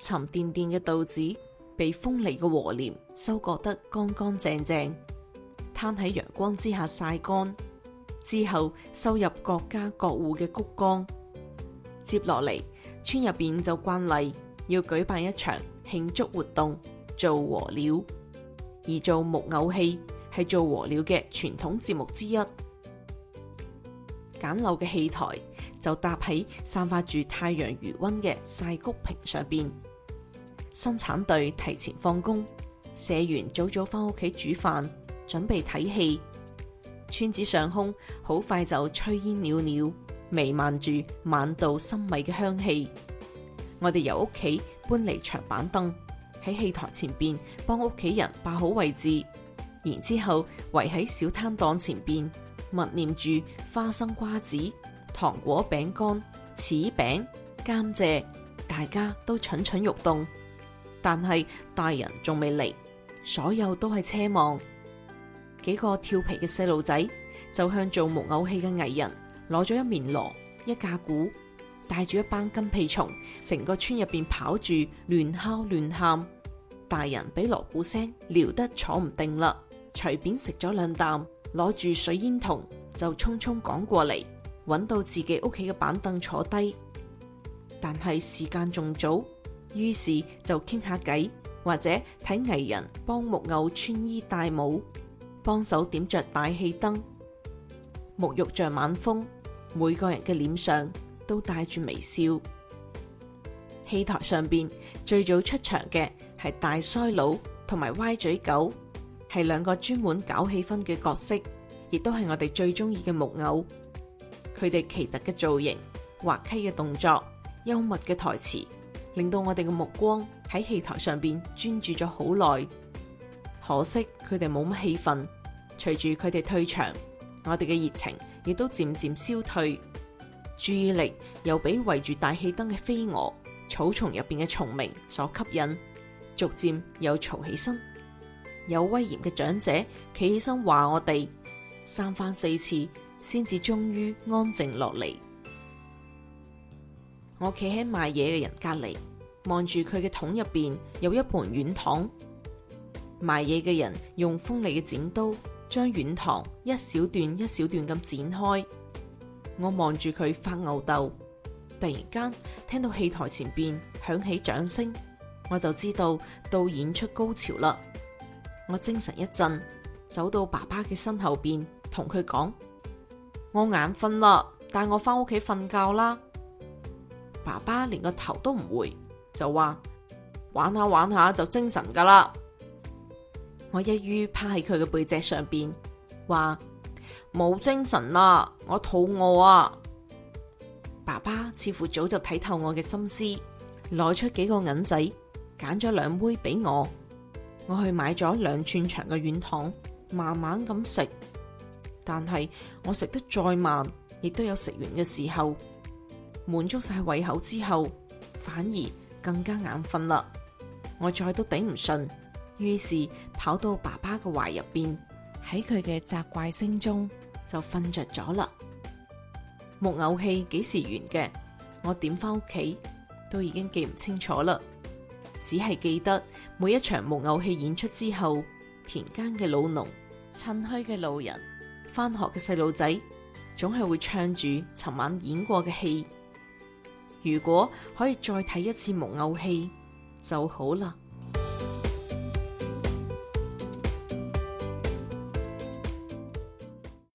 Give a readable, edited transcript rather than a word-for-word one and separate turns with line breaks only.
沉甸甸嘅稻子被鋒利嘅禾鐮收割得乾乾淨淨，攤喺陽光之下曬乾，之後收入各家各戶嘅穀缸。接落嚟，村入邊就慣例要舉辦一場慶祝活動，做禾鳥。而做木偶戲係做禾鳥嘅傳統節目之一。簡陋嘅戲台就搭喺散發住太陽餘溫嘅曬穀坪上邊。生產隊提前放工，社員早早返屋企煮飯，準備睇戲。村子上空好快就炊煙裊裊，彌漫住晚稻生米嘅香氣。我哋由屋企搬嚟長板凳，喺戲台前邊幫屋企人霸好位置，然之後圍喺小攤檔前邊默念住花生瓜子、糖果餅乾、柿餅、甘蔗，大家都蠢蠢欲動。但係大人仲未嚟，所有都係奢望。幾個調皮嘅細路仔就向做木偶戲嘅藝人攞咗一面鑼、一架鼓，帶住一班跟屁蟲，成個村入邊跑住，亂敲亂喊。大人俾鑼鼓聲撩得坐唔定啦，隨便食咗兩啖，攞住水煙筒就匆匆趕過嚟，揾到自己屋企嘅板凳坐低。但係時間仲早，於是就傾下偈，或者睇藝人幫木偶穿衣戴帽，幫手點着大氣燈。沐浴着晚風，每個人嘅臉上都帶住微笑。戲台上邊最早出場嘅係大腮佬同埋歪嘴狗，係兩個專門搞氣氛嘅角色，亦都係我哋最中意嘅木偶。佢哋奇特嘅造型、滑稽嘅動作、幽默嘅台詞，令到我哋嘅目光喺戲台上邊專注咗好耐。可惜佢哋冇乜戲份，隨住佢哋退場，我哋嘅熱情亦都漸漸消退，注意力又俾圍住大氣燈嘅飛蛾、草叢入邊嘅蟲鳴所吸引，逐漸又嘈起身。有威嚴嘅長者企起身話我哋，三番四次先至終於安靜落嚟。我企喺賣嘢嘅人隔籬，望住佢嘅桶入邊有一盤軟糖。賣嘢嘅人用鋒利嘅剪刀將軟糖一小段一小段咁剪開。我望住佢發吽哣，突然間聽到戲台前邊響起掌聲，我就知道到演出高潮啦。我精神一振，走到爸爸嘅身後邊，同佢講：我眼瞓啦，帶我翻屋企瞓覺啦。爸爸連個頭都唔回，就話：玩下玩下就精神噶啦。我一於趴喺佢嘅背脊上邊，話：冇精神啦，我肚餓啊。爸爸似乎早就睇透我嘅心思，攞出幾個銀仔，揀咗兩枚俾我。我去買咗2寸長嘅軟糖，慢慢咁食。但係我食得再慢，亦都有食完嘅時候。滿足晒胃口之後，反而更加眼瞓啦。我再都頂唔順，於是跑到爸爸嘅懷入邊，喺佢嘅責怪聲中就瞓着咗啦。木偶戲幾時完嘅？我點翻屋企都已經記唔清楚啦，只係記得每一場木偶戲演出之後，田間嘅老農、趁墟嘅路人、翻學嘅細路仔，總係會唱住尋晚演過嘅戲。如果可以再睇一次木偶戲就好啦。